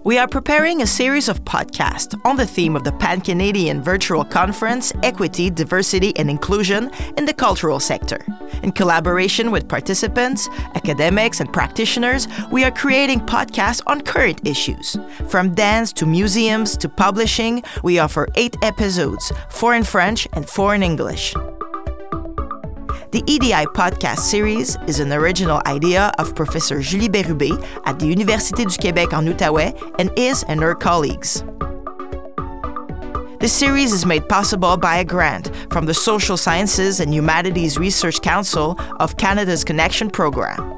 We are preparing a series of podcasts on the theme of the Pan-Canadian Virtual Conference, Equity, Diversity and Inclusion in the Cultural Sector. In collaboration with participants, academics and practitioners, we are creating podcasts on current issues. From dance to museums to publishing, we offer 8 episodes, 4 in French and 4 in English. The EDI podcast series is an original idea of Professor Julie Bérubé at the Université du Québec en Outaouais and his and her colleagues. This series is made possible by a grant from the Social Sciences and Humanities Research Council of Canada's Connection Program.